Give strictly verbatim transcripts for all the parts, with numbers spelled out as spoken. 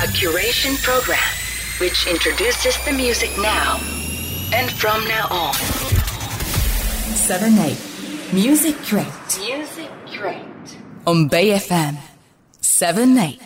A curation program which introduces the music now and from now on. seven eight Music Crate. Music Crate. On Bay エフエム セブンエイト。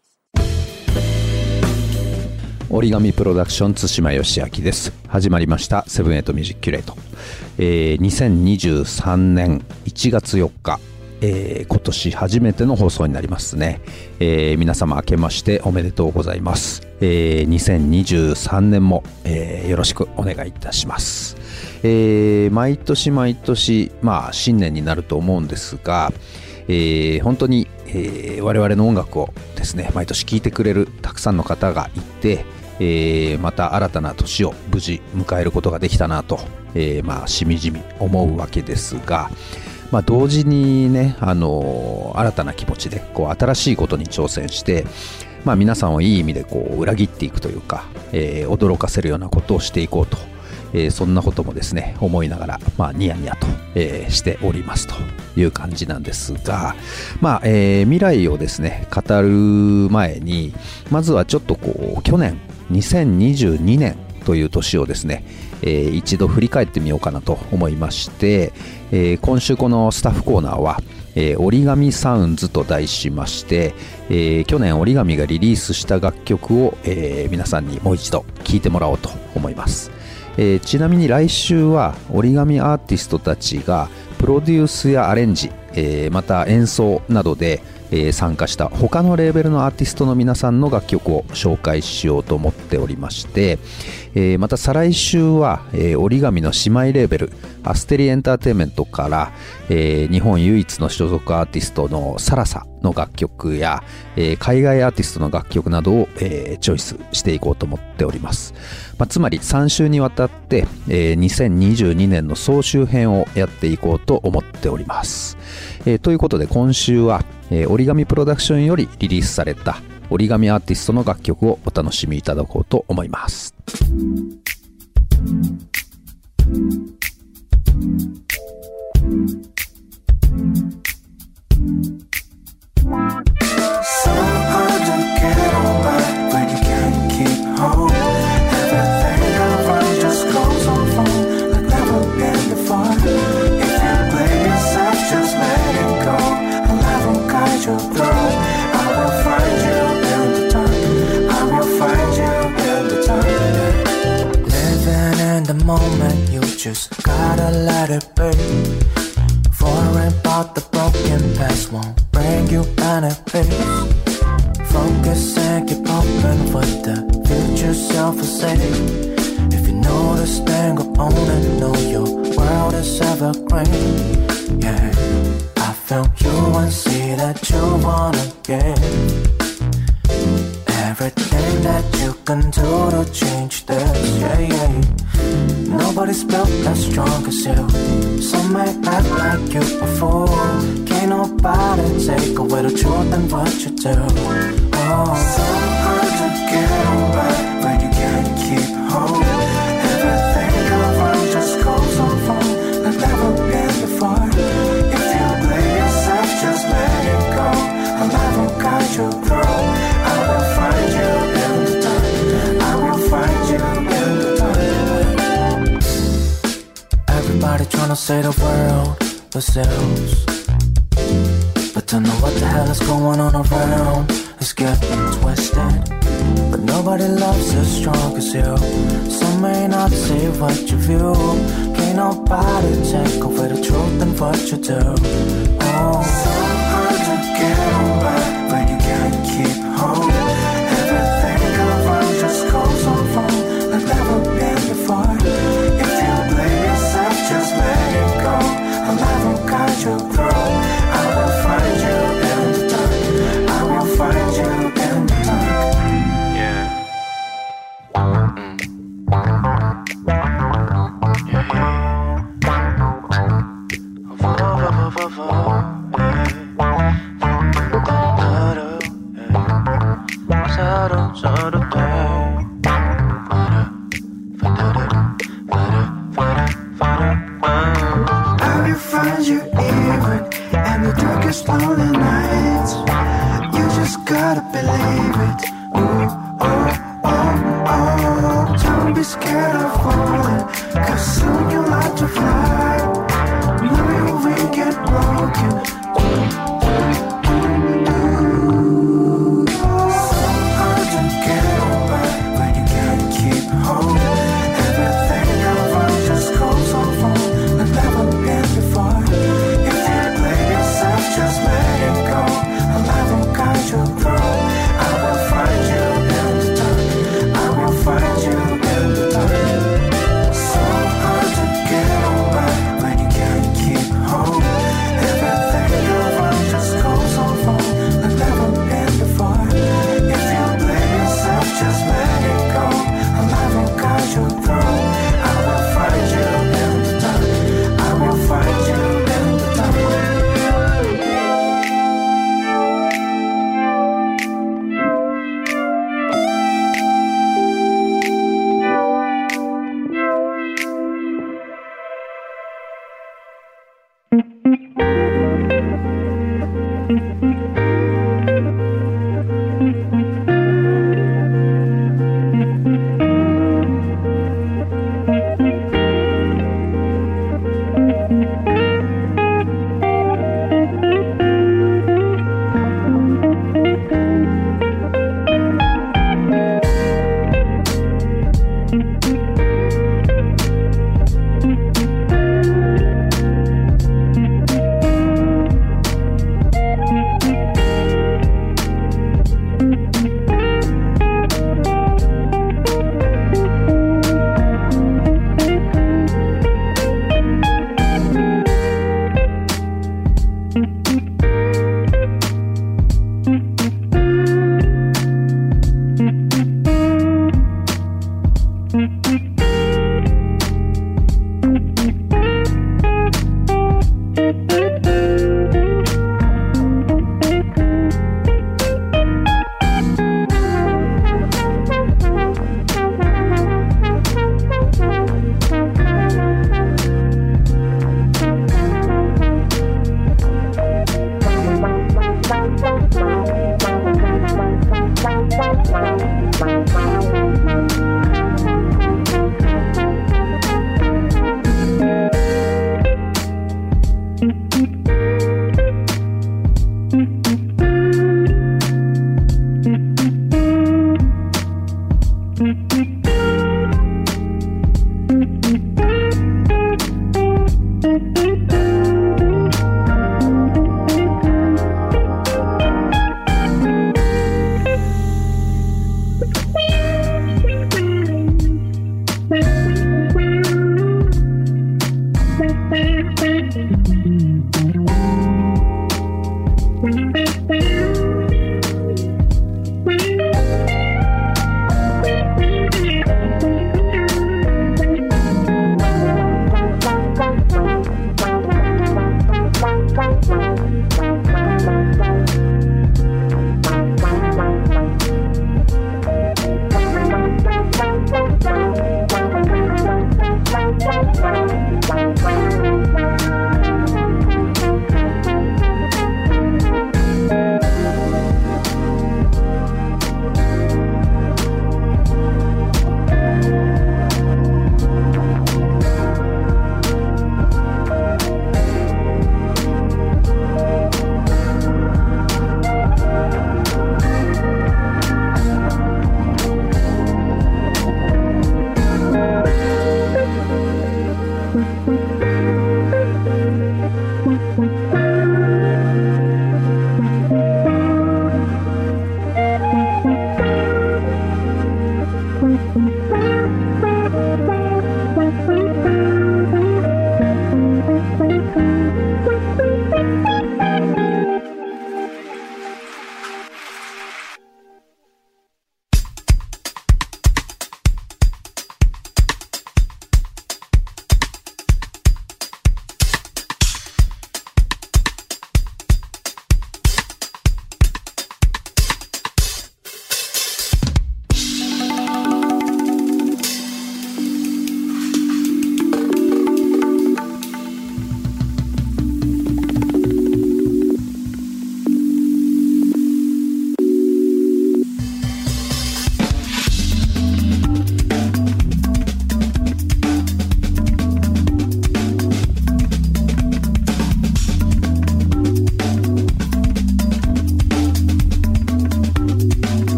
折り紙プロダクション津島義明です。始まりましたセブンエイトミュージックキュレート、えー、にせんにじゅうさんねんいちがつよっか、えー、今年初めての放送になりますね、えー、皆様明けましておめでとうございます、えー、にせんにじゅうさんねんも、えー、よろしくお願いいたします、えー、毎年毎年まあ新年になると思うんですが、えー、本当に、えー、我々の音楽をですね毎年聴いてくれるたくさんの方がいて、えー、また新たな年を無事迎えることができたなと、えー、まあしみじみ思うわけですが、まあ、同時にね、あのー、新たな気持ちでこう新しいことに挑戦して、まあ、皆さんをいい意味でこう裏切っていくというか、えー、驚かせるようなことをしていこうと、えー、そんなこともですね思いながら、まあ、ニヤニヤと、えー、しておりますという感じなんですが、まあえー、未来をですね語る前にまずはちょっとこう去年にせんにじゅうにねんという年をですね、えー、一度振り返ってみようかなと思いまして、えー、今週このスタッフコーナーは、えー、折り紙サウンズと題しまして、えー、去年折り紙がリリースした楽曲を、えー、皆さんにもう一度聴いてもらおうと思います、えー、ちなみに来週は折り紙アーティストたちがプロデュースやアレンジ、えー、また演奏などでえー、参加した他のレーベルのアーティストの皆さんの楽曲を紹介しようと思っておりまして、えー、また再来週は、えー、折り紙の姉妹レーベルアステリエンターテインメントから、えー、日本唯一の所属アーティストのサラサの楽曲や、えー、海外アーティストの楽曲などを、えー、チョイスしていこうと思っております、まあ、つまりさん週にわたって、えー、にせんにじゅうにねんの総集編をやっていこうと思っております、えー、ということで今週はえー、折り紙プロダクションよりリリースされた折り紙アーティストの楽曲をお楽しみいただこうと思います。 Moment you just gotta let it be. Worrying about the broken past won't bring you benefits. Focus and keep open what the future self will say. If you notice then go on and know your world is evergreen. Yeah, I felt you and see that you wanna get everything that you can do to change this. Yeah, yeah.Nobody's built as strong as you. Some may act like you a fool. Can't nobody take away the truth and what you do. Oh, so hard to get away when you can't keep home. Everything you want just goes on wrong like never been before. If you blame yourself, just let it go. I'll never guide you through. I will find you in the dark. I will find you in the dark.Everybody tryna say the world themselves, but don't know what the hell is going on around. It's getting twisted, but nobody loves as strong as you. Some may not see what you view. Can't nobody take away the truth and what you do. Oh, so hard to get away when you can't keep home. Everything you want just goes on wrong like never been before.Just let it go. I'll never guide you through. I will find you in the dark. I will find you in the dark. Yeah. Mm. Yeah, yeah.I will find you in the dark.Lonely nights, you just gotta believe it. Don't be scared of falling, 'cause soon you'll have to fly. Know your wing get broken. So hard to get away when you can't keep home. Everything ever just goes on wrong like never been before. If you blame yourself, just let it go. I'll never guide you through. I will find you in the dark. I will find you in the dark. So hard to get away.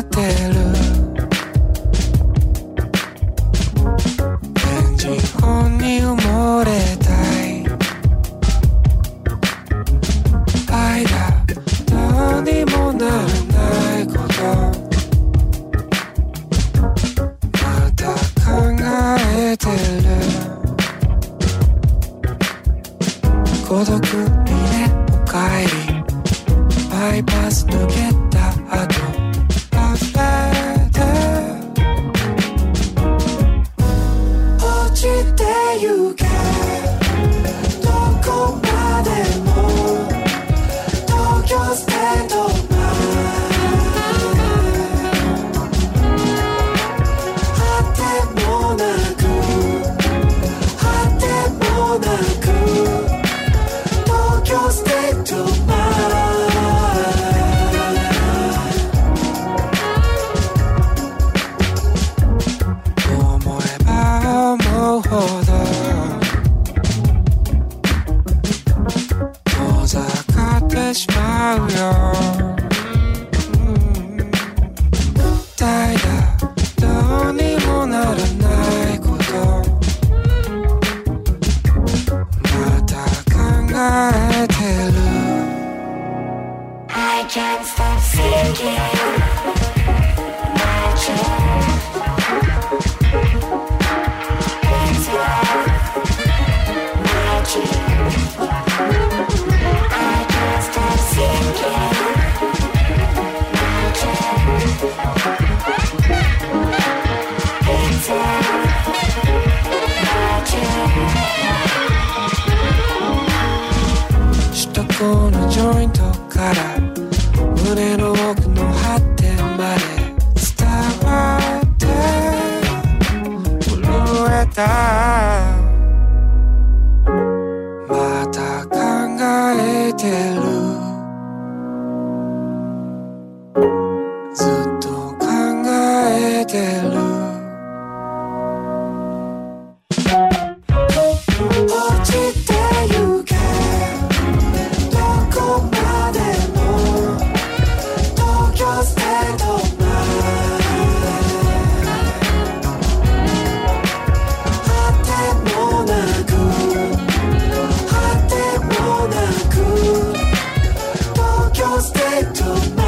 てる現実本に埋もれたい愛だどうにもならないことまた考えてる孤独にねおかえりバイパス抜けた後溢れて落ちてゆけどこまでも東京ステート前果てもなく果てもなく東京ステート前思えば思うほど遠ざかってしまうよ、うん、大だどうにもならないことまた考えてる I can't stop thinking magic it's love magic I can't stop thinking magic it's love magic首都高のジョイントから胸の奥の果てまで伝わって震えたまた考えてるずっと考えてる落ちてゆけどこまでも東京ステート前果てもなく果てもなく東京ステート前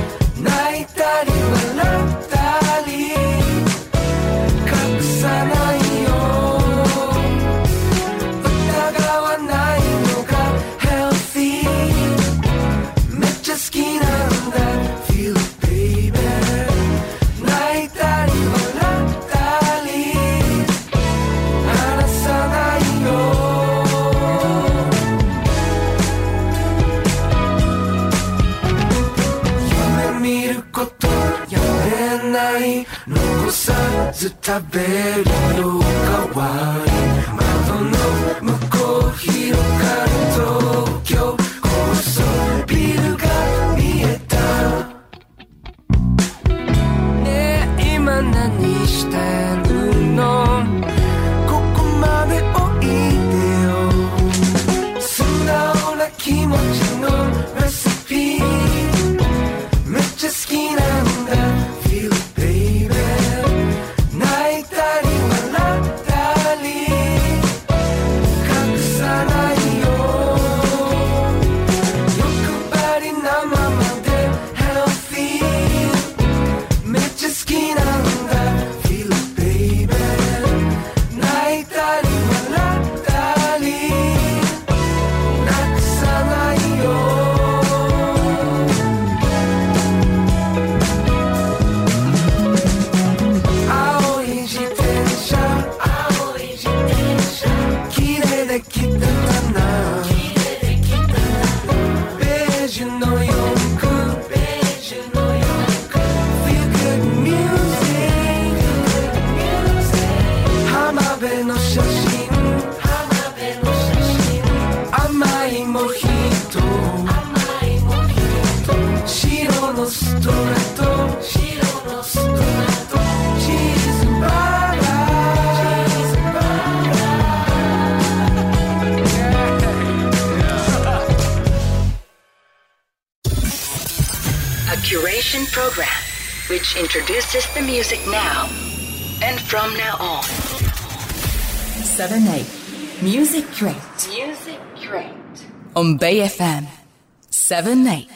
泣いたり笑ったり隠さないることやめない、残さず食べるよ代わり、窓の向こう広がる東京、高層ビルが見えた。ねえ今何してるの、ここまでおいでよ、素直な気持ちのレシピめっちゃ好きなんだ Feel it baby、 泣いたり笑ったり隠さないよ、欲張りなままで Healthy めっちゃ好きなんだ Feel it baby、 泣いたり笑ったりなくさないよ。青い自転車、青い自転車、綺麗できてたな、綺麗できてたな、ベージュの洋服、ベージュの洋服、 Feel good music、 浜辺の写真、浜辺の写真、甘いモヒート、甘いモヒート、白のストラト、白のストラト、チーズバーガー、チーズバーガ A curation program which introduces the music now and from now on. seven eight Music Crate. Music Crate. On Bay F M seven eight.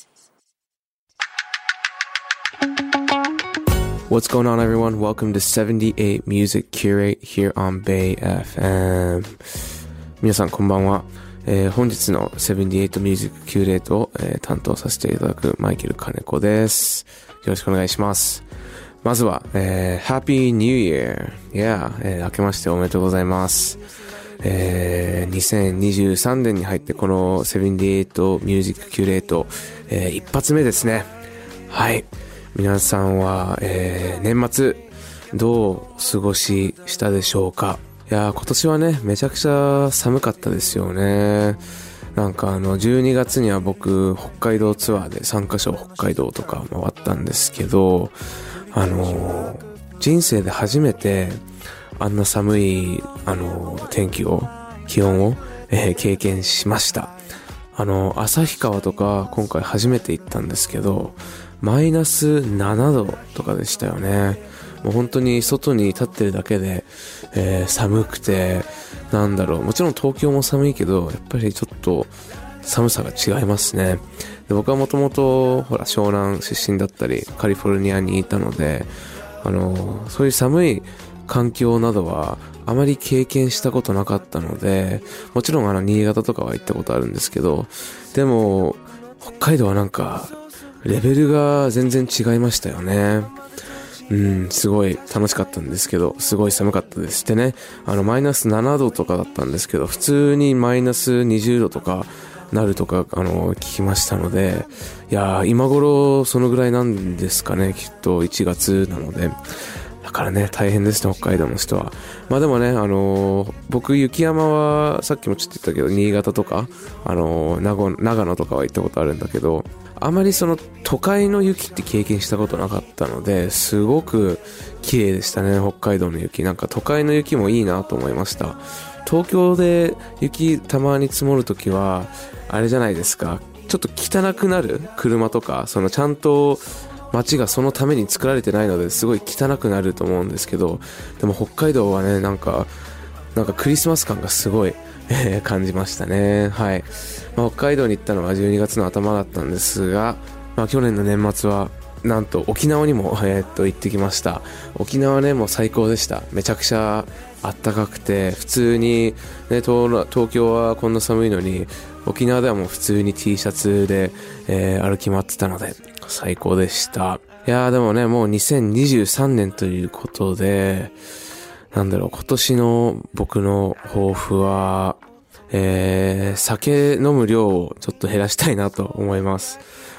What's going on, everyone? Welcome to seventy-eight Music Curate here on Bay エフエム。 皆さんこんばんは、えー、本日のセブンティエイト Music Curate を、えー、担当させていただくマイケル金子です。よろしくお願いします。まずは、えー、Happy New Year! Yeah! えー、明けましておめでとうございます。えー、にせんにじゅうさんねんに入ってこのセブンティエイト Music Curate、えー、一発目ですね。はい。皆さんは、えー、年末どうお過ごししたでしょうか。いやー、今年はねめちゃくちゃ寒かったですよね。なんかあのじゅうにがつには僕北海道ツアーでさんカ所北海道とか回ったんですけど、あのー、人生で初めてあんな寒いあのー、天気を気温を、えー、経験しました。あのー、旭川とか今回初めて行ったんですけど、マイナスななどとかでしたよね。もう本当に外に立ってるだけで、えー、寒くて、なんだろう、もちろん東京も寒いけど、やっぱりちょっと寒さが違いますね。で、僕はもともとほら湘南出身だったりカリフォルニアにいたので、あのそういう寒い環境などはあまり経験したことなかったので、もちろんあの新潟とかは行ったことあるんですけど、でも北海道はなんかレベルが全然違いましたよね。うん、すごい楽しかったんですけど、すごい寒かったです。でね、あのマイナスななどとかだったんですけど、普通にマイナスにじゅうどとかなるとかあの聞きましたので、いやー今頃そのぐらいなんですかね、きっといちがつなので。だからね大変ですね、北海道の人は。まあでもね、あのー、僕雪山はさっきもちょっと言ったけど新潟とかあのー、長, 長野とかは行ったことあるんだけど、あまりその都会の雪って経験したことなかったので、すごく綺麗でしたね、北海道の雪。なんか都会の雪もいいなと思いました。東京で雪たまに積もるときはあれじゃないですか、ちょっと汚くなる車とか、そのちゃんと街がそのために作られてないのですごい汚くなると思うんですけど、でも北海道はね、なんかなんかクリスマス感がすごい、えー、感じましたね。はい。まあ、北海道に行ったのはじゅうにがつの頭だったんですが、まあ、去年の年末はなんと沖縄にも、えー、っと行ってきました。沖縄ね、もう最高でした。めちゃくちゃあったかくて、普通に、ね、東, 東京はこんな寒いのに沖縄ではもう普通に T シャツで、えー、歩き回ってたので最高でした。いやーでもね、もうにせんにじゅうさんねんということで、なんだろう、今年の僕の抱負は、えー、酒飲む量をちょっと減らしたいなと思います。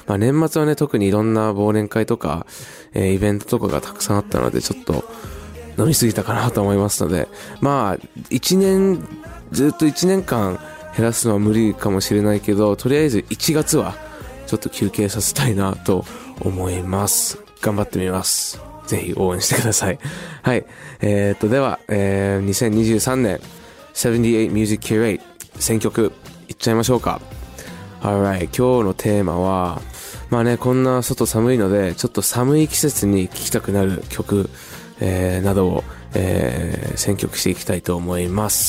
まあ年末はね、特にいろんな忘年会とか、えー、イベントとかがたくさんあったので、ちょっと飲みすぎたかなと思いますので、まあ、一年、ずっと一年間減らすのは無理かもしれないけど、とりあえずいちがつはちょっと休憩させたいなと思います。頑張ってみます。ぜひ応援してください。はい。えー、っと、では、えー、にせんにじゅうさんねん、セブンティエイト Music Curate 選曲いっちゃいましょうか。Alright、今日のテーマは、まあね、こんな外寒いので、ちょっと寒い季節に聴きたくなる曲、えー、などを、えー、選曲していきたいと思います。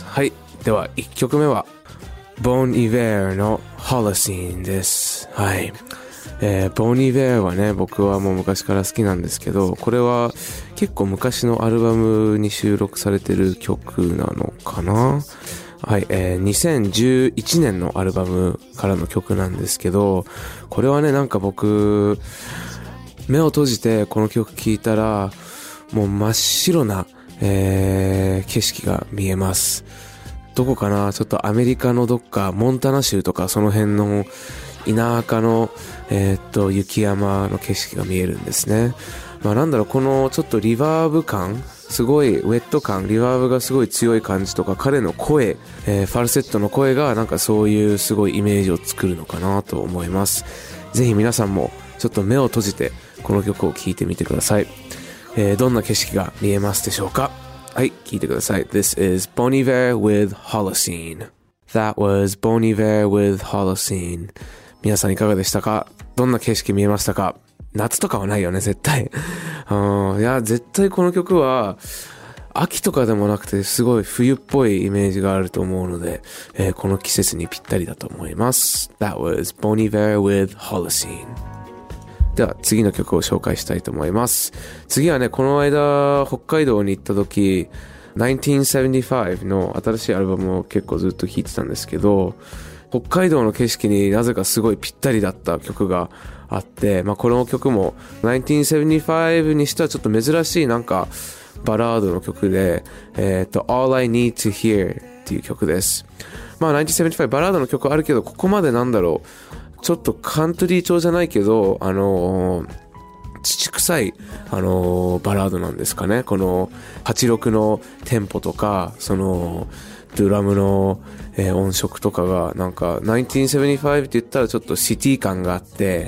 はい。では、いっきょくめは、ボン・イヴェーの Holocene です。はい。えー、ボン・イヴェーはね、僕はもう昔から好きなんですけど、これは結構昔のアルバムに収録されてる曲なのかな。はい、えー、にせんじゅういちねんのアルバムからの曲なんですけど、これはね、なんか僕、目を閉じてこの曲聴いたら、もう真っ白な、えー、景色が見えます。どこかな、ちょっとアメリカのどっか、モンタナ州とかその辺の田舎の、えー、っと、雪山の景色が見えるんですね。まあなんだろう、このちょっとリバーブ感、すごいウェット感、リバーブがすごい強い感じとか、彼の声、えー、ファルセットの声がなんかそういうすごいイメージを作るのかなと思います。ぜひ皆さんもちょっと目を閉じてこの曲を聴いてみてください。えー、どんな景色が見えますでしょうか。はい、聴いてください。This is Bon Iver with Holocene. That was Bon Iver with Holocene. 皆さんいかがでしたか？どんな景色見えましたか？夏とかはないよね、絶対。うん、いや、絶対この曲は、秋とかでもなくて、すごい冬っぽいイメージがあると思うので、えー、この季節にぴったりだと思います。That was Bon Iver with Holocene. では、次の曲を紹介したいと思います。次はね、この間、北海道に行った時、ナインティーンセブンティファイブの新しいアルバムを結構ずっと聴いてたんですけど、北海道の景色になぜかすごいぴったりだった曲があって、まあこの曲もナインティーンセブンティファイブにしてはちょっと珍しいなんかバラードの曲で、えっと All I Need to Hear っていう曲です。まあナインティーンセブンティファイブバラードの曲あるけど、ここまでなんだろう、ちょっとカントリー調じゃないけど、あのー、父臭い、あのー、バラードなんですかね。このはちろくのテンポとか、そのドラムの、えー、音色とかがなんかナインティーンセブンティファイブって言ったらちょっとシティ感があって、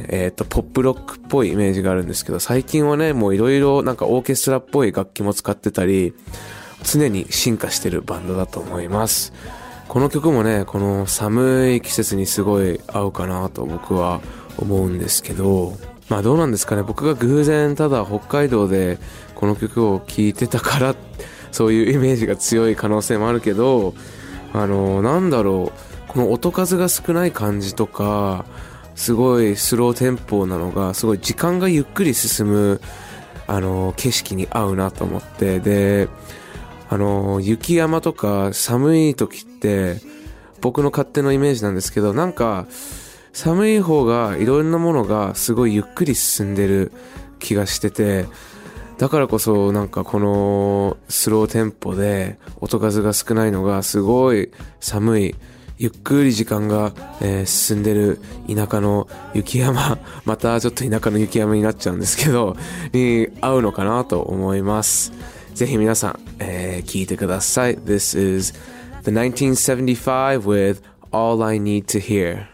えっとポップロックっぽいイメージがあるんですけど、最近はねもういろいろなんかオーケストラっぽい楽器も使ってたり、常に進化してるバンドだと思います。この曲もね、この寒い季節にすごい合うかなと僕は思うんですけど、まあどうなんですかね。僕が偶然ただ北海道でこの曲を聴いてたからそういうイメージが強い可能性もあるけど、あのなんだろう、この音数が少ない感じとか、すごいスローテンポなのがすごい時間がゆっくり進むあの景色に合うなと思って、であの雪山とか寒い時って僕の勝手のイメージなんですけど、なんか寒い方がいろんなものがすごいゆっくり進んでる気がしてて、だからこそなんかこのスローテンポで音数が少ないのがすごい寒いゆっくり時間が、えー、進んでる田舎の雪山、またちょっと田舎の雪山になっちゃうんですけどに合うのかなと思います。ぜひ皆さん、えー、聞いてください。 This is the nineteen seventy-five with All I Need to Hear.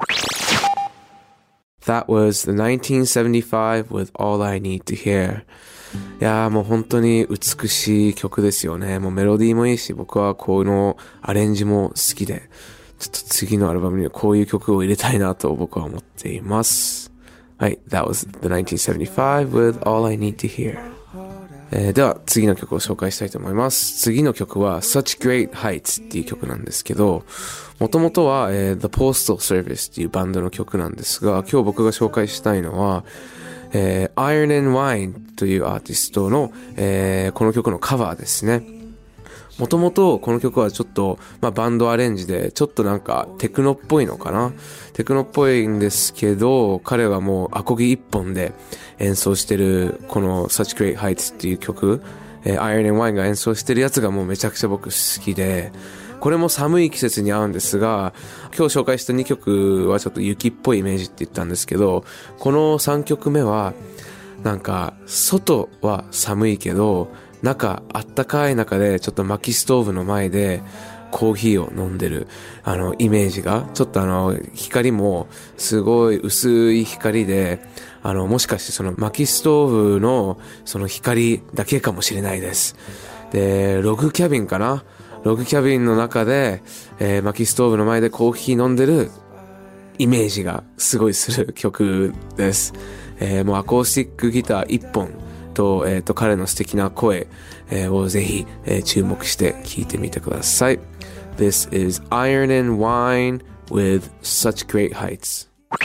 That was the nineteen seventy-five with All I Need to Hear. いやーもう本当に美しい曲ですよね。もうメロディーもいいし、僕はこのアレンジも好きで、ちょっと次のアルバムにはこういう曲を入れたいなと僕は思っています。はい、That was the nineteen seventy-five with All I Need to Hear。えー、では次の曲を紹介したいと思います。次の曲は Such Great Heights っていう曲なんですけど、もともとは、えー、The Postal Service っていうバンドの曲なんですが、今日僕が紹介したいのは、えー、Iron and Wine というアーティストの、えー、この曲のカバーですね。もともとこの曲はちょっと、まあ、バンドアレンジでちょっとなんかテクノっぽいのかな、テクノっぽいんですけど、彼はもうアコギ一本で演奏してるこの Such Great Heights っていう曲、えー、Iron and Wine が演奏してるやつがもうめちゃくちゃ僕好きで、 これも寒い季節に合うんですが、今日紹介したにきょくはちょっと雪っぽいイメージって言ったんですけど、このさんきょくめはなんか外は寒いけど中あったかい中でちょっと薪ストーブの前でコーヒーを飲んでるあのイメージが、ちょっとあの光もすごい薄い光で、あのもしかしてその薪ストーブのその光だけかもしれないです。でログキャビンかな、ログキャビンの中で、えー、薪ストーブの前でコーヒー飲んでるイメージがすごいする曲です。えー、もうアコースティックギター一本と、えー、と彼の素敵な声、えー、をぜひ、えー、注目して聴いてみてください。This is Iron and Wine with Such Great Heights.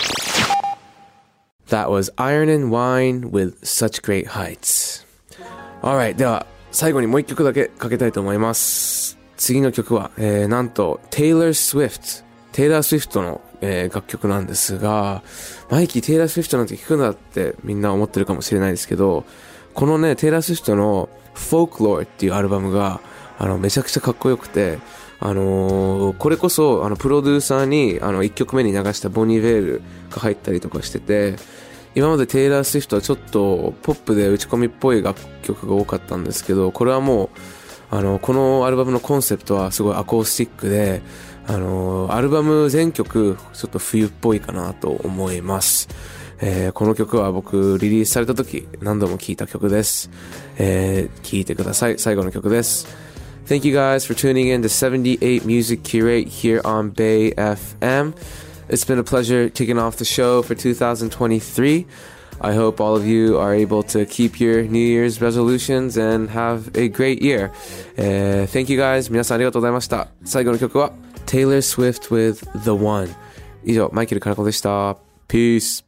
That was Iron and Wine with Such Great Heights. Alright, では最後にもう一曲だけかけたいと思います。次の曲は、えー、なんと Taylor Swift、テイラー・スウィフトの、えー、楽曲なんですが、マイキーテイラー・スウィフトなんて聞くんだってみんな思ってるかもしれないですけど、このねテイラー・スウィフトの Folklore っていうアルバムがあのめちゃくちゃかっこよくて、あのー、これこそあのプロデューサーにあのいっきょくめに流したボニー・ベールが入ったりとかしてて、今までテイラー・スウィフトはちょっとポップで打ち込みっぽい楽曲が多かったんですけど、これはもうあのこのアルバムのコンセプトはすごいアコースティックで、あのアルバム全曲ちょっと冬っぽいかなと思います。えー、この曲は僕リリースされた時何度も聴いた曲です。えー、聴いてください。最後の曲です。Thank you guys for tuning in to seventy-eight Music Curate here on Bay エフエム. It's been a pleasure kicking off the show for two thousand twenty-three. I hope all of you are able to keep your New Year's resolutions and have a great year. Uh, thank you guys. 皆さんありがとうございました。最後の曲は Taylor Swift with The One. 以上、マイケル・カナコでした。Peace.